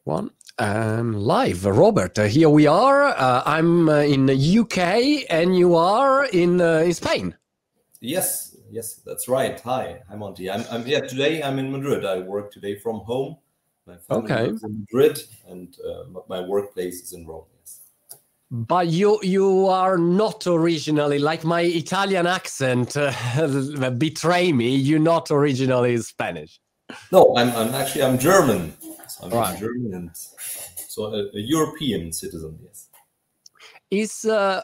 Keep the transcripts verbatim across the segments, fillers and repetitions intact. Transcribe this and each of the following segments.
One um, live, Robert. Uh, here we are. Uh, I'm uh, in the U K, and you are in uh, in Spain. Yes, yes, that's right. Hi, hi, Monty. I'm, I'm yeah. Today I'm in Madrid. I work today from home. My family Okay. lives in Madrid, and uh, my workplace is in Rome. Yes. But you you are not originally, like my Italian accent uh, betray me. You're not originally Spanish. No, I'm I'm actually I'm German. So I'm Right. German, and so a, a European citizen. Yes. Is uh,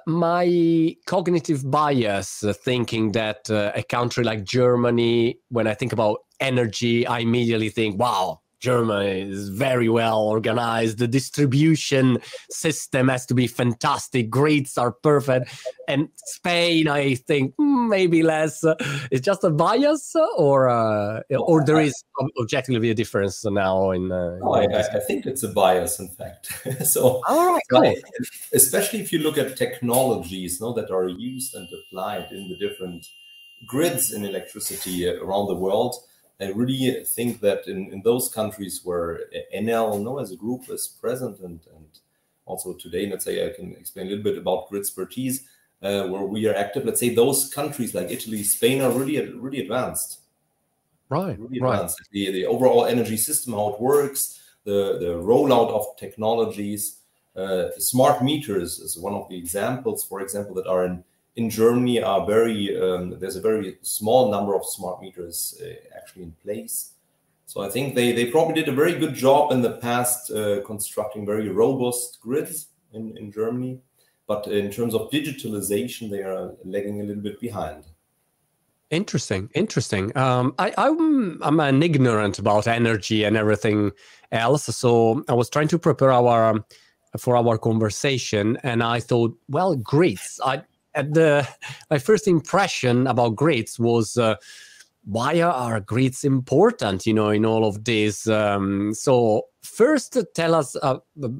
my cognitive bias uh, thinking that uh, a country like Germany, when I think about energy, I immediately think, wow, Germany is very well organized. The distribution system has to be fantastic. Grids are perfect. And Spain, I think mm, maybe less. Uh, it's just a bias, or uh, or there is objectively a difference now in. Uh, no, in I, I think it's a bias, in fact. so, all right, so cool. I, especially if you look at technologies, no, that are used and applied in the different grids in electricity around the world. I really think that in, in those countries where Enel, no, as a group is present, and, and also today, let's say I can explain a little bit about Gridspertise, uh, where we are active. Let's say those countries like Italy, Spain are really, really advanced. Right, really right. advanced. The, the overall energy system, how it works, the, the rollout of technologies, uh, smart meters is one of the examples, for example, that are in in Germany are very, um, there's a very small number of smart meters uh, actually in place. So I think they, they probably did a very good job in the past uh, constructing very robust grids in, in Germany. But in terms of digitalization, they are lagging a little bit behind. Interesting, interesting. Um, I, I'm I'm an ignorant about energy and everything else, so I was trying to prepare our um, for our conversation, and I thought, well, grids. I at the my first impression about grids was uh, why are grids important? You know, in all of this. Um, so first, tell us uh,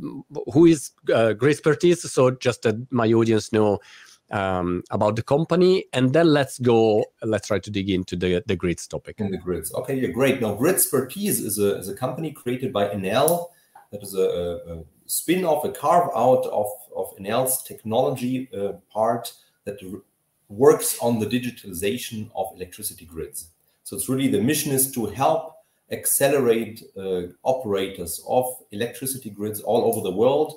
who is uh, Gridspertise, so just that my audience know. Um, about the company, and then let's go, let's try to dig into the, the grids topic. In the grids. Okay, yeah, great. Now, Gridspertise is a, is a company created by Enel. That is a, a spin-off, a carve-out of, of Enel's technology uh, part that works on the digitalization of electricity grids. So it's really, the mission is to help accelerate uh, operators of electricity grids all over the world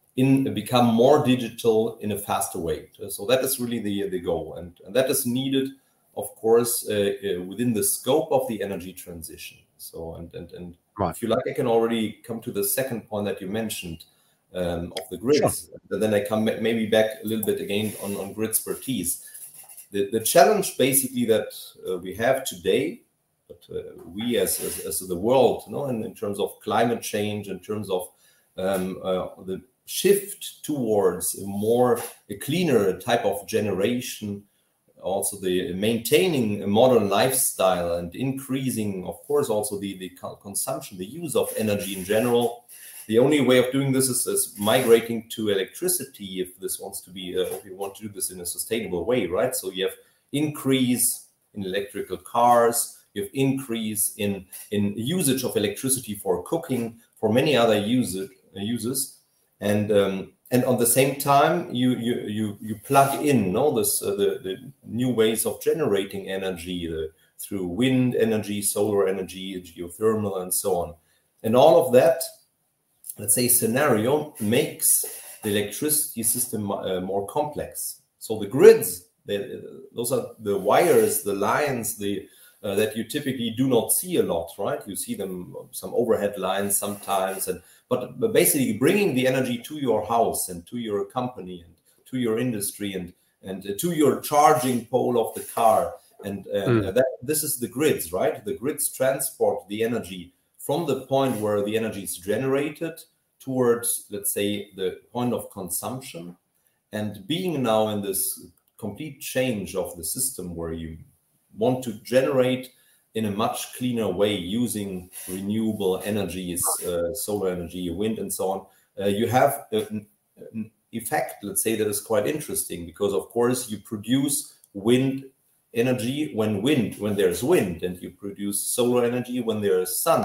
in become more digital in a faster way. So that is really the, the goal. And, and that is needed, of course, uh, uh, within the scope of the energy transition. So, and, and, and right. If you like, I can already come to the second point that you mentioned um, of the grids. Sure. Then I come maybe back a little bit again on, on Gridspertise. The, the challenge basically that uh, we have today, but uh, we as, as, as the world, you know, in, in terms of climate change, in terms of um, uh, the shift towards a more a cleaner type of generation, also the maintaining a modern lifestyle and increasing, of course, also the, the consumption, the use of energy in general. The only way of doing this is, is migrating to electricity if this wants to be, uh, if you want to do this in a sustainable way, right? So you have increase in electrical cars, you have increase in, in usage of electricity for cooking, for many other user, uh, uses. And um, and on the same time, you you you you plug in, no, this uh, the the new ways of generating energy uh, through wind energy, solar energy, geothermal, and so on. And all of that, let's say, scenario makes the electricity system uh, more complex. So the grids, they, those are the wires, the lines, the uh, that you typically do not see a lot, right? You see them, some overhead lines sometimes, and but, but basically bringing the energy to your house and to your company and to your industry and and uh, to your charging pole of the car. And uh, mm. that this is the grids, right? The grids transport the energy from the point where the energy is generated towards, let's say, the point of consumption. And being now in this complete change of the system where you want to generate in a much cleaner way using renewable energies, uh, solar energy, wind, and so on, uh, you have an, an effect, let's say, that is quite interesting, because of course you produce wind energy when wind, when there's wind, and you produce solar energy when there is sun.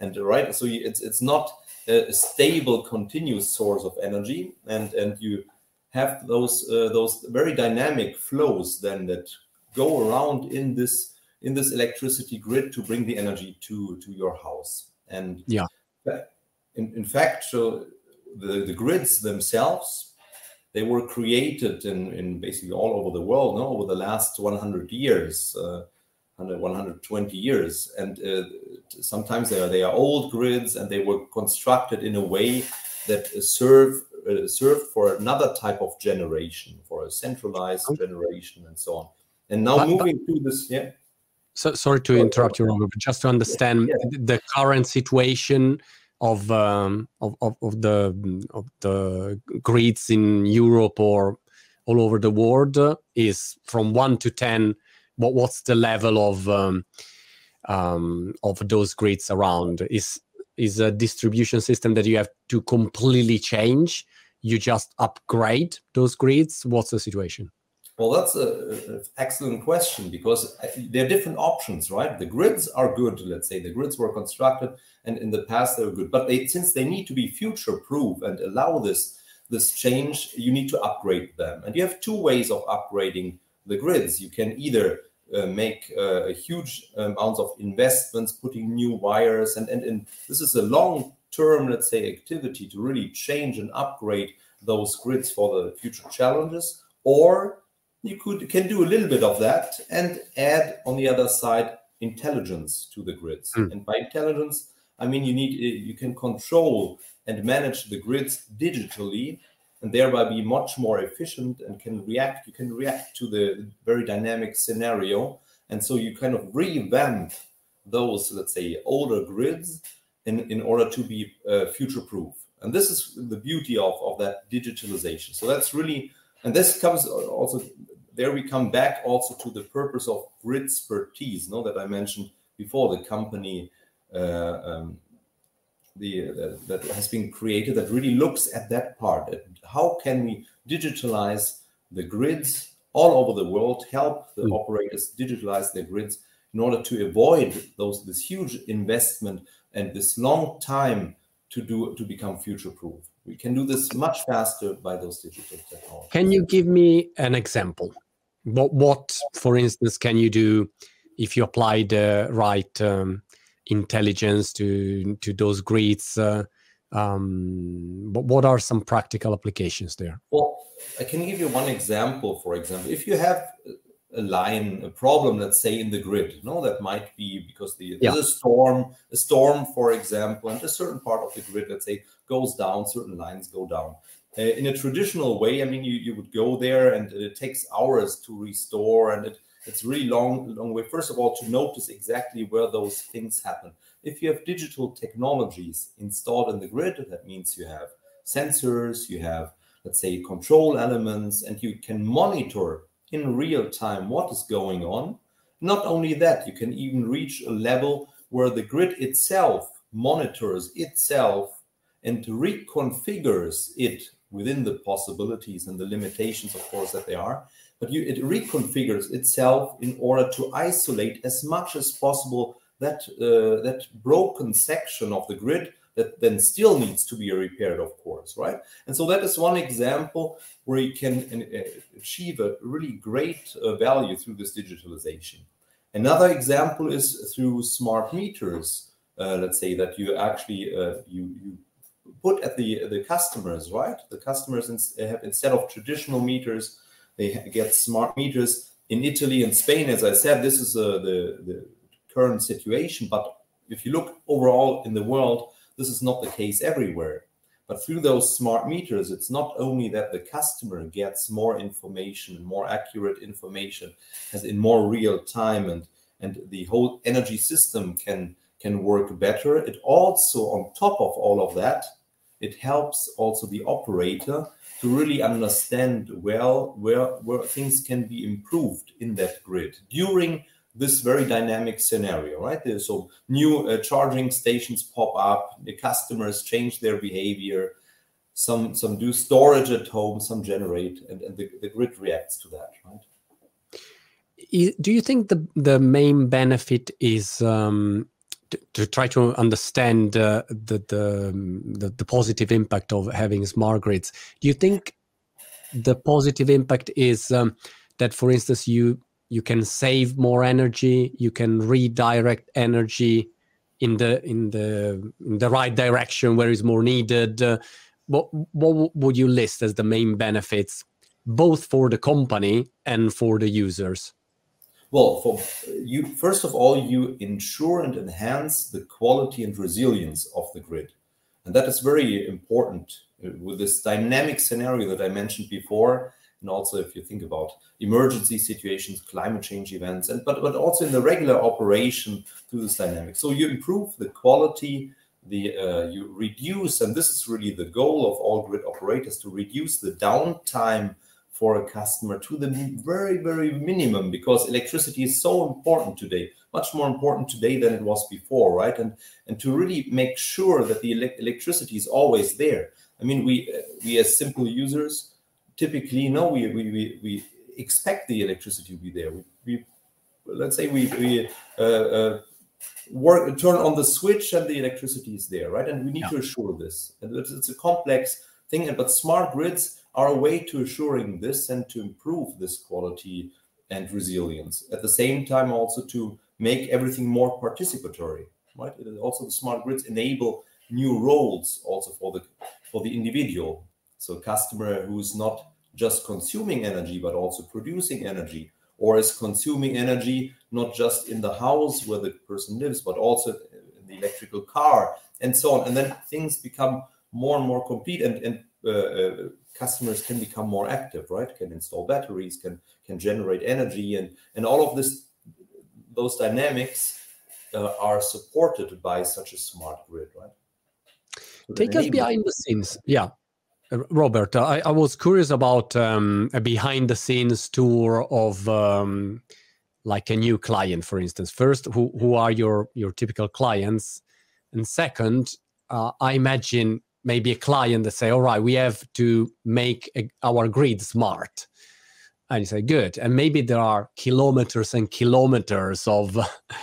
And right, so you, it's it's not a, a stable, continuous source of energy, and and you have those uh, those very dynamic flows then that go around in this in this electricity grid to bring the energy to to your house. And yeah, in, in fact, so the, the grids themselves, they were created in, in basically all over the world, no, over the last one hundred years, uh, one hundred twenty years. And uh, sometimes they are, they are old grids, and they were constructed in a way that serve uh, served for another type of generation, for a centralized generation and so on. And now but, moving but, to this, yeah. So sorry to interrupt you, Robert, but just to understand yeah, yeah. the current situation of, um, of, of of the of the grids in Europe or all over the world uh, is from one to ten. What what's the level of um, um, of those grids around? Is is a distribution system that you have to completely change? You just upgrade those grids? What's the situation? Well, that's an excellent question, because there are different options, right? The grids are good. Let's say the grids were constructed, and in the past they were good, but they, since they need to be future-proof and allow this this change, you need to upgrade them. And you have two ways of upgrading the grids. You can either uh, make uh, a huge amounts of investments, putting new wires, and, and and this is a long-term, let's say, activity to really change and upgrade those grids for the future challenges, or you could can do a little bit of that and add on the other side intelligence to the grids. Mm. And by intelligence, I mean you need you can control and manage the grids digitally, and thereby be much more efficient and can react. You can react to the very dynamic scenario, and so you kind of revamp those, let's say, older grids in in order to be uh, future-proof. And this is the beauty of of that digitalization. So that's really. And this comes also, there we come back also to the purpose of Gridspertise, no, that I mentioned before, the company uh, um, the, uh, that has been created that really looks at that part. At how can we digitalize the grids all over the world, help the mm. operators digitalize their grids in order to avoid those this huge investment and this long time to do to become future-proof. We can do this much faster by those digital technologies. Can you give me an example? What, what for instance, can you do if you apply the right um, intelligence to to those grids? Uh, um, but what are some practical applications there? Well, I can give you one example. For example, if you have a line, a problem, let's say in the grid, you know, that might be because the, yeah. there's a storm, a storm, for example, and a certain part of the grid, let's say, goes down, certain lines go down. Uh, in a traditional way, I mean, you, you would go there and it takes hours to restore, and it, it's really long, long way, first of all, to notice exactly where those things happen. If you have digital technologies installed in the grid, that means you have sensors, you have, let's say, control elements, and you can monitor in real time what is going on. Not only that, you can even reach a level where the grid itself monitors itself and reconfigures it within the possibilities and the limitations, of course, that they are. But you, it reconfigures itself in order to isolate as much as possible that, uh, that broken section of the grid that then still needs to be repaired, of course, right? And so that is one example where you can uh, achieve a really great uh, value through this digitalization. Another example is through smart meters. Uh, let's say that you actually uh, you you put at the the customers, right? The customers have, instead of traditional meters, they get smart meters. In Italy and Spain, as I said, this is uh, the the current situation. But if you look overall in the world, this is not the case everywhere. But through those smart meters, it's not only that the customer gets more information, more accurate information, as in more real time, and, and the whole energy system can, can work better. It also, on top of all of that, it helps also the operator to really understand well where, where things can be improved in that grid during this very dynamic scenario, right? There's so new uh, charging stations pop up, the customers change their behavior, some some do storage at home, some generate, and, and the, the grid reacts to that, right? Do you think the the main benefit is um, to, to try to understand uh, the, the, the the positive impact of having smart grids. Do you think the positive impact is um, that, for instance, you you can save more energy, you can redirect energy in the in the in the right direction where it's more needed? Uh, what what would you list as the main benefits, both for the company and for the users? Well, for you, first of all, you ensure and enhance the quality and resilience of the grid. And that is very important with this dynamic scenario that I mentioned before. And also if you think about emergency situations, climate change events, and but, but also in the regular operation through this dynamic. So you improve the quality, the uh, you reduce, and this is really the goal of all grid operators, to reduce the downtime for a customer to the very, very minimum, because electricity is so important today, much more important today than it was before, right? And and to really make sure that the ele- electricity is always there. I mean, we we as simple users typically know we we we, we expect the electricity to be there. We, we let's say we we uh, uh, work turn on the switch and the electricity is there, right? And we need yeah. to assure this. And it's, it's a complex thing, but smart grids are a way to assuring this and to improve this quality and resilience. At the same time, also to make everything more participatory, right? It also, the smart grids enable new roles also for the for the individual. So a customer who's not just consuming energy, but also producing energy, or is consuming energy not just in the house where the person lives, but also in the electrical car, and so on. And then things become more and more complete, and, and uh, uh, customers can become more active, right? Can install batteries, can can generate energy, and and all of this, those dynamics uh, are supported by such a smart grid, right? So take us behind the scenes, yeah. Robert, I, I was curious about um, a behind the scenes tour of um, like a new client, for instance. First, who who are your your typical clients, and second, uh, I imagine maybe a client that say, all right, we have to make a, our grid smart. And you say, good. And maybe there are kilometers and kilometers of,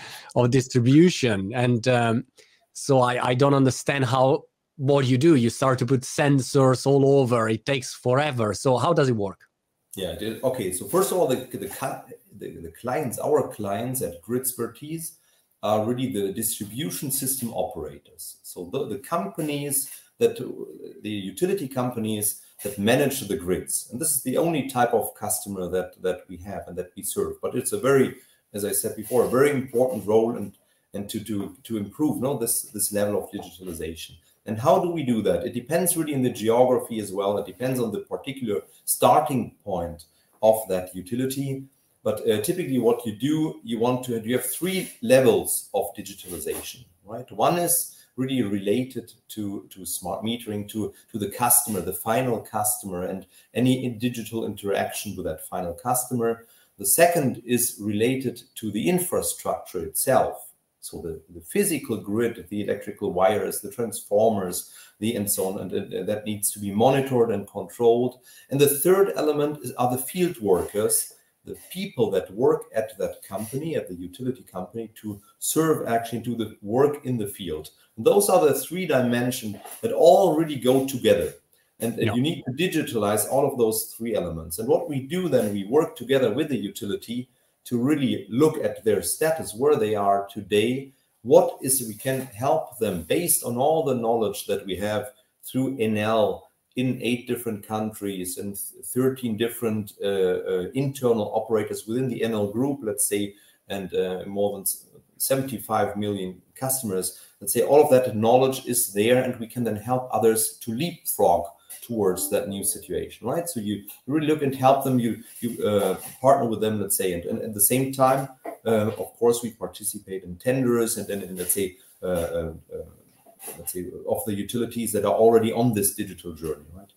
of distribution. And um, so I, I don't understand how, what you do. You start to put sensors all over. It takes forever. So how does it work? Yeah. Okay. So first of all, the, the, the, the clients, our clients at Gridspertise are really the distribution system operators. So the, the companies that the utility companies that manage the grids. And this is the only type of customer that, that we have and that we serve. But it's a very, as I said before, a very important role and, and to, to, to improve no, this, this level of digitalization. And how do we do that? It depends really in the geography as well. It depends on the particular starting point of that utility. But uh, typically what you do, you want to, you have three levels of digitalization, right? One is really related to, to smart metering, to, to the customer, the final customer, and any digital interaction with that final customer. The second is related to the infrastructure itself. So the, the physical grid, the electrical wires, the transformers, the and so on, and, and that needs to be monitored and controlled. And the third element is, are the field workers, the people that work at that company, at the utility company, to serve actually to the work in the field. And those are the three dimensions that all really go together. And, and yeah. you need to digitalize all of those three elements. And what we do then, we work together with the utility to really look at their status, where they are today, what is we can help them based on all the knowledge that we have through Enel in eight different countries and thirteen different uh, uh, internal operators within the Enel group, let's say, and uh, more than seventy-five million customers. Let's say all of that knowledge is there, and we can then help others to leapfrog towards that new situation, right? So you really look and help them, you you uh, partner with them, let's say, and, and at the same time, uh, of course, we participate in tenders and then, let's say, uh, uh, uh, let's say, of the utilities that are already on this digital journey, right?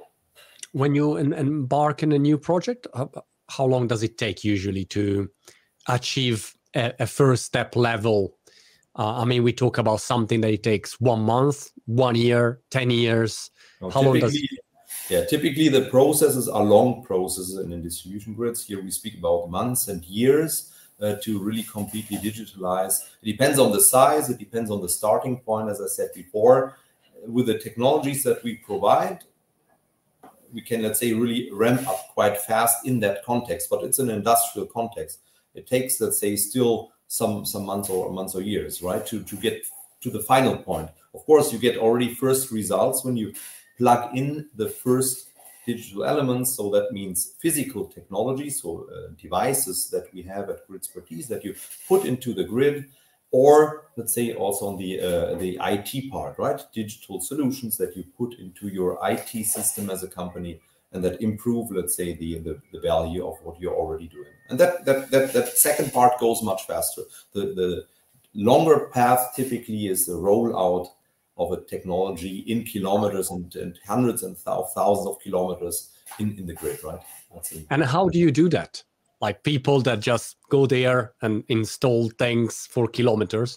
When you embark in a new project, how long does it take usually to achieve a, a first step level? Uh, I mean, we talk about something that it takes one month, one year, ten years. No, how long does it? Yeah, typically the processes are long processes in distribution grids. Here we speak about months and years. uh, to really completely digitalize. It depends on the size, it depends on the starting point, as I said before. With the technologies that we provide, we can, let's say, really ramp up quite fast in that context, but it's an industrial context. It takes, let's say, still some some months or months or years, right, to, to get to the final point. Of course, you get already first results when you plug in the first digital elements. So that means physical technology, so uh, devices that we have at Gridspertise that you put into the grid, or let's say also on the uh, the I T part, right? Digital solutions that you put into your I T system as a company and that improve, let's say, the, the, the value of what you're already doing. And that that that, that second part goes much faster. The, the longer path typically is the rollout of a technology in kilometers and, and hundreds and th- thousands of kilometers in, in the grid, right? That's and how do you do that? Like people that just go there and install things for kilometers?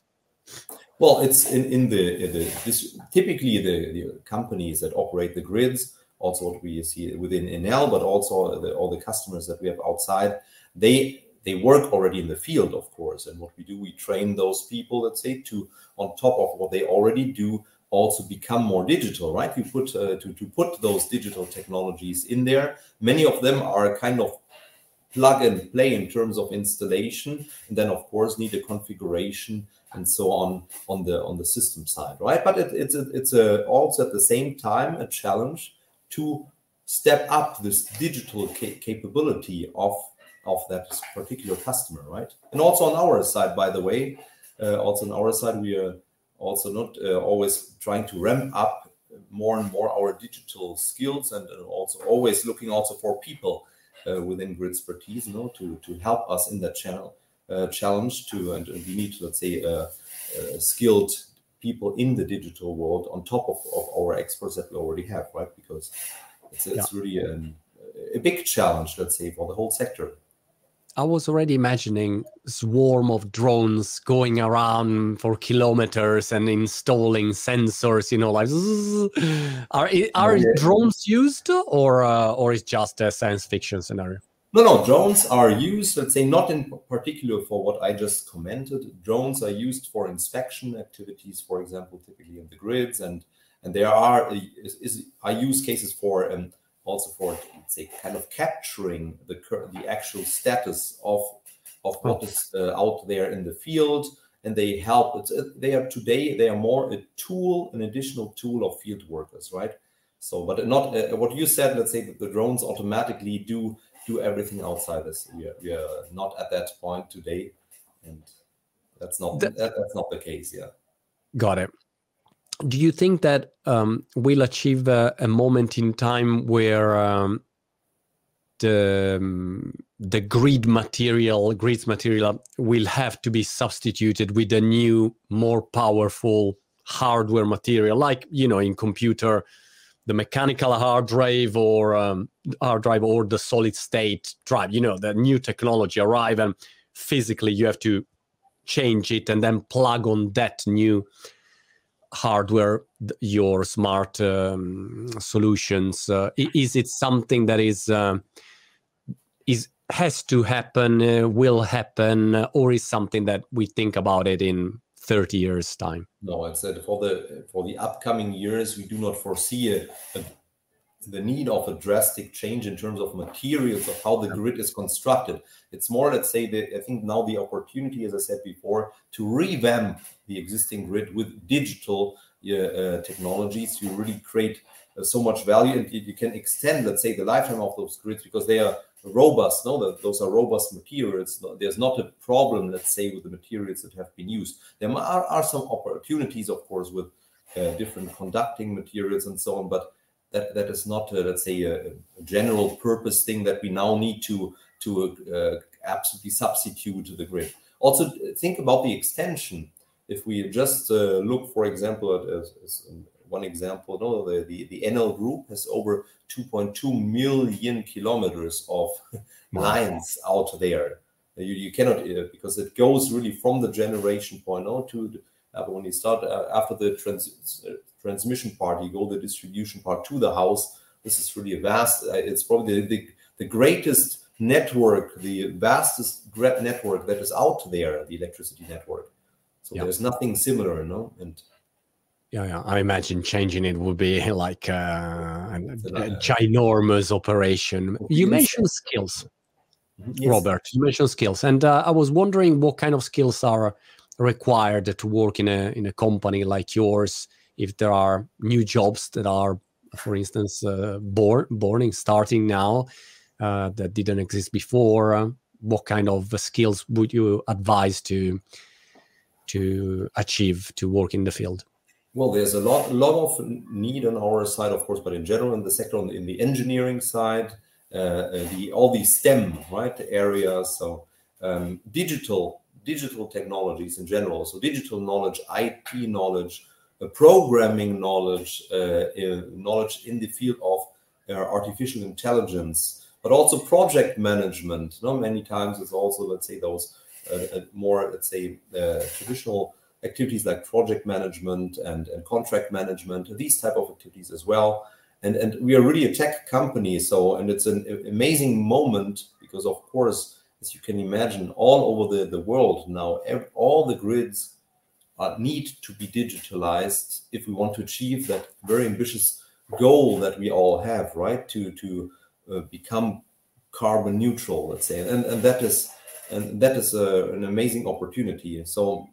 Well, it's in, in the, in the this, typically the, the companies that operate the grids, also what we see within Enel, but also the, all the customers that we have outside, they they work already in the field, of course. And what we do, we train those people, let's say, to, on top of what they already do, also become more digital, right? We put uh, to, to put those digital technologies in there. Many of them are kind of plug and play in terms of installation, and then of course need a configuration and so on on the on the system side, right? But it, it's a, it's a, also at the same time a challenge to step up this digital ca- capability of of that particular customer, right? And also on our side, by the way, uh, also on our side, we are also not uh, always trying to ramp up more and more our digital skills, and uh, also always looking also for people uh, within Gridspertise, you know, to to help us in that channel uh, challenge. To and, and we need, let's say, uh, uh, skilled people in the digital world on top of, of our experts that we already have, right? Because it's it's yeah. really an, a big challenge, let's say, for the whole sector. I was already imagining a swarm of drones going around for kilometers and installing sensors, you know, like, are are oh, yeah. drones used, or uh, or is just a science fiction scenario? No, no, drones are used, let's say, not in particular for what I just commented. Drones are used for inspection activities, for example, typically in the grids, and and there are is, is are use cases for um, also for, let's say, kind of capturing the the actual status of of what is uh, out there in the field, and they help. It's, uh, they are today they are more a tool, an additional tool of field workers, right? So, but not uh, what you said. Let's say that the drones automatically do do everything outside this. We are, we are not at that point today, and that's not that, that, that's not the case. Yeah. Got it. Do you think that um, we'll achieve a, a moment in time where um, the um, the grid material, grids material, will have to be substituted with a new, more powerful hardware material, like, you know, in computer, the mechanical hard drive or um, hard drive or the solid state drive? You know, the new technology arrive and physically you have to change it and then plug on that new hardware your smart um, solutions. Uh, is it something that is uh, is has to happen, uh, will happen, uh, or is something that we think about it in thirty years time? No, it's that for the for the upcoming years we do not foresee a, a, the need of a drastic change in terms of materials, of how the grid is constructed. It's more, let's say, that I think now the opportunity, as I said before, to revamp the existing grid with digital uh, uh, technologies. You really create uh, so much value, and you, you can extend, let's say, the lifetime of those grids because they are robust. No, that those are robust materials. There's not a problem, let's say, with the materials that have been used. There are, are some opportunities, of course, with uh, different conducting materials and so on, but that that is not, uh, let's say, a, a general purpose thing that we now need to to uh, absolutely substitute the grid. Also, think about the extension. If we just uh, look, for example, at as, as one example, no, the, the, the Enel Group has over two point two million kilometers of lines out there. You, you cannot, uh, because it goes really from the generation point on to the, uh, when you start uh, after the trans, uh, transmission part, you go the distribution part to the house. This is really vast. Uh, it's probably the, the, the greatest network, the vastest grid network that is out there, the electricity network. So Yeah. there's nothing similar, no? And Yeah, yeah. I imagine changing it would be like uh, a, a uh, ginormous operation. would be You insane. mentioned skills, Yes. Robert. You mentioned skills, and uh, I was wondering what kind of skills are required to work in a in a company like yours. If there are new jobs that are, for instance, uh, born born starting now uh, that didn't exist before, uh, what kind of skills would you advise to to achieve to work in the field? Well, there's a lot, a lot of need on our side, of course, but in general, in the sector, in the engineering side, uh, the all these STEM right areas, so um, digital, digital technologies in general, so digital knowledge, I T knowledge, uh, programming knowledge, uh, uh, knowledge in the field of uh, artificial intelligence, but also project management. You know, many times it's also, let's say, those uh, more, let's say, uh, traditional activities like project management and, and contract management, these type of activities as well. And, and we are really a tech company. So, and it's an amazing moment because, of course, as you can imagine, all over the, the world now, every, all the grids uh, need to be digitalized if we want to achieve that very ambitious goal that we all have, right? To, to uh, become carbon neutral, let's say. And, and that is, and that is a, an amazing opportunity. So,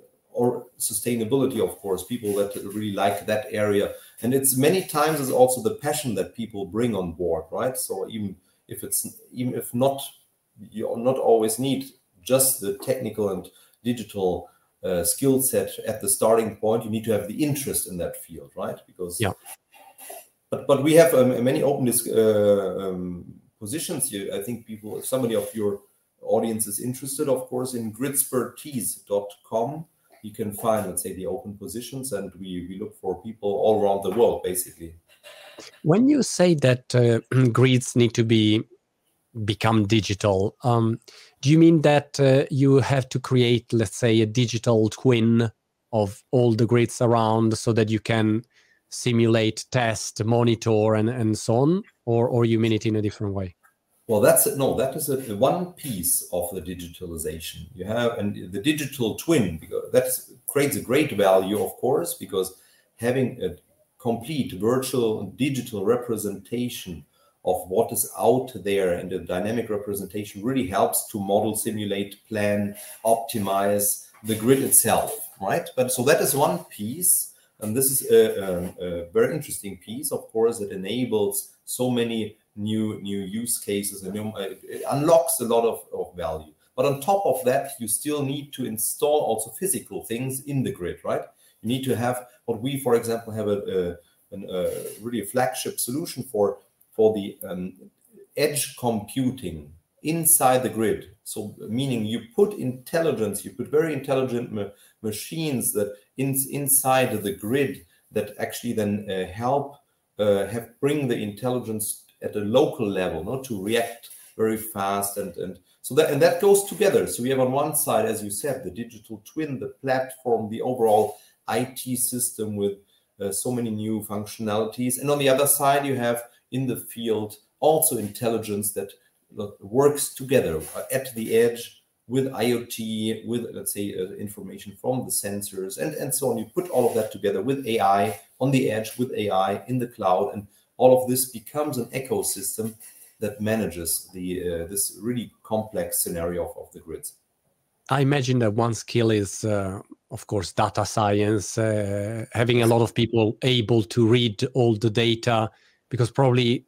or sustainability, of course, people that really like that area. And it's many times is also the passion that people bring on board, right? So even if it's, even if not, you not always need just the technical and digital uh, skill set at the starting point, you need to have the interest in that field, right? Because, yeah. But, but we have um, many open uh, um, positions here. I think people, if somebody of your audience is interested, of course, in gridspertise dot com, you can find, let's say, the open positions, and we, we look for people all around the world, basically. When you say that uh, grids need to be become digital, um, do you mean that uh, you have to create, let's say, a digital twin of all the grids around so that you can simulate, test, monitor, and, and so on? Or, or you mean it in a different way? Well, that's it. No, that is a, one piece of the digitalization. You have and the digital twin, because that creates a great value, of course, because having a complete virtual digital representation of what is out there and the dynamic representation really helps to model, simulate, plan, optimize the grid itself, right? But so that is one piece, and this is a, a, a very interesting piece, of course, that enables so many new new use cases, and it unlocks a lot of, of value. But on top of that, you still need to install also physical things in the grid, right? You need to have what we, for example, have a, a, a really a flagship solution for for the um, edge computing inside the grid. So meaning you put intelligence, you put very intelligent ma machines that in, inside the grid that actually then uh, help uh, have bring the intelligence at a local level, not to react very fast, and and so that and that goes together. So we have on one side, as you said, the digital twin, the platform, the overall I T system with uh, so many new functionalities, and on the other side, you have in the field also intelligence that works together at the edge with IoT, with let's say uh, information from the sensors, and and so on. You put all of that together with A I on the edge, with A I in the cloud, and all of this becomes an ecosystem that manages the uh, this really complex scenario of, of the grids. I imagine that one skill is, uh, of course, data science, uh, having a lot of people able to read all the data, because probably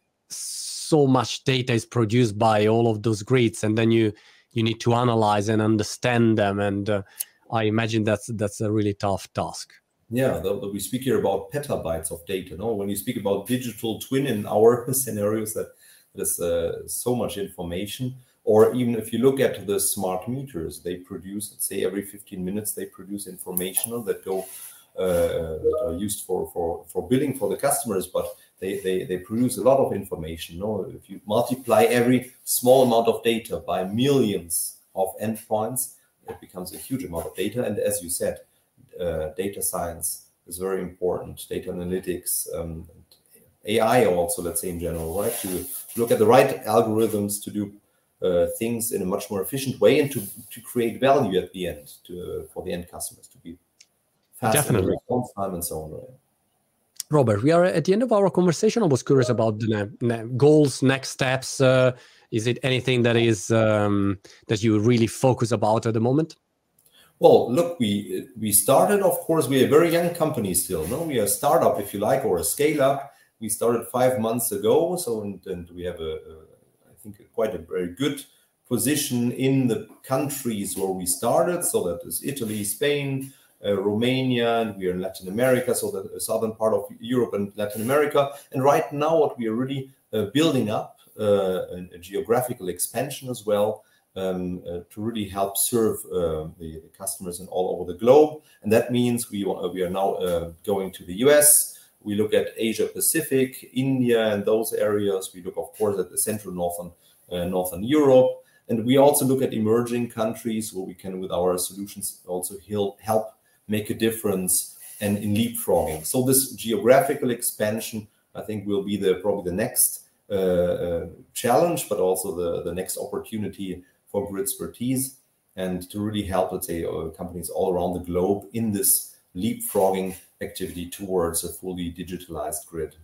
so much data is produced by all of those grids, and then you you need to analyze and understand them. And uh, I imagine that's that's a really tough task. Yeah, the, the, we speak here about petabytes of data. No, when you speak about digital twin in our scenarios, that there's uh, so much information. Or even if you look at the smart meters, they produce, let's say, every fifteen minutes they produce information that go uh, that are used for for for billing for the customers. But they they they produce a lot of information. No, if you multiply every small amount of data by millions of endpoints, it becomes a huge amount of data. And as you said, Uh, data science is very important, data analytics, um, A I also, let's say in general, right? To look at the right algorithms to do uh, things in a much more efficient way and to, to create value at the end to, uh, for the end customers, to be fast in the response time and so on. Right? Robert, we are at the end of our conversation. I was curious about the ne ne goals, next steps. Uh, is it anything that is um, that you really focus about at the moment? Well, look, we we started, of course, we are a very young company still. No, we are a startup, if you like, or a scale up. We started five months ago, so and, and we have a, a, I think, a, quite a very good position in the countries where we started. So that is Italy, Spain, uh, Romania, and we are in Latin America. So the southern part of Europe and Latin America. And right now, what we are really uh, building up uh, a, a geographical expansion as well. Um, uh, to really help serve uh, the, the customers in all over the globe. And that means we, uh, we are now uh, going to the U S. We look at Asia Pacific, India, and those areas. We look, of course, at the Central Northern, uh, Northern Europe. And we also look at emerging countries where we can, with our solutions, also help, help make a difference and in leapfrogging. So this geographical expansion, I think, will be the probably the next uh, uh, challenge, but also the, the next opportunity for Gridspertise, and to really help, let's say, uh, companies all around the globe in this leapfrogging activity towards a fully digitalized grid.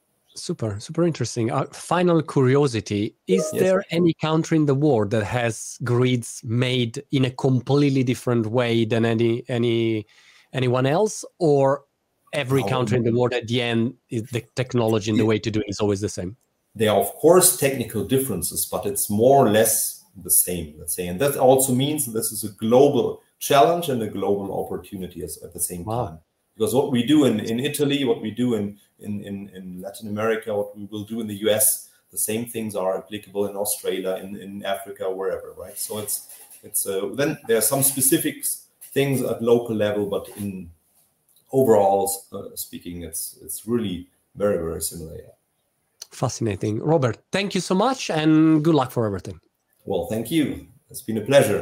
Super, super interesting. Uh, final curiosity, is Yes. there any country in the world that has grids made in a completely different way than any any anyone else, or every No, country in the world at the end, is the technology and the way to do it is always the same? There are, of course, technical differences, but it's more or less the same, let's say. And that also means this is a global challenge and a global opportunity as, at the same Wow. time. Because what we do in, in Italy, what we do in, in, in, in Latin America, what we will do in the U S, the same things are applicable in Australia, in, in Africa, wherever, right? So it's, it's uh, then there are some specific things at local level, but in overall uh, speaking, it's, it's really very, very similar. Yeah. Fascinating. Robert, thank you so much and good luck for everything. Well, thank you. It's been a pleasure.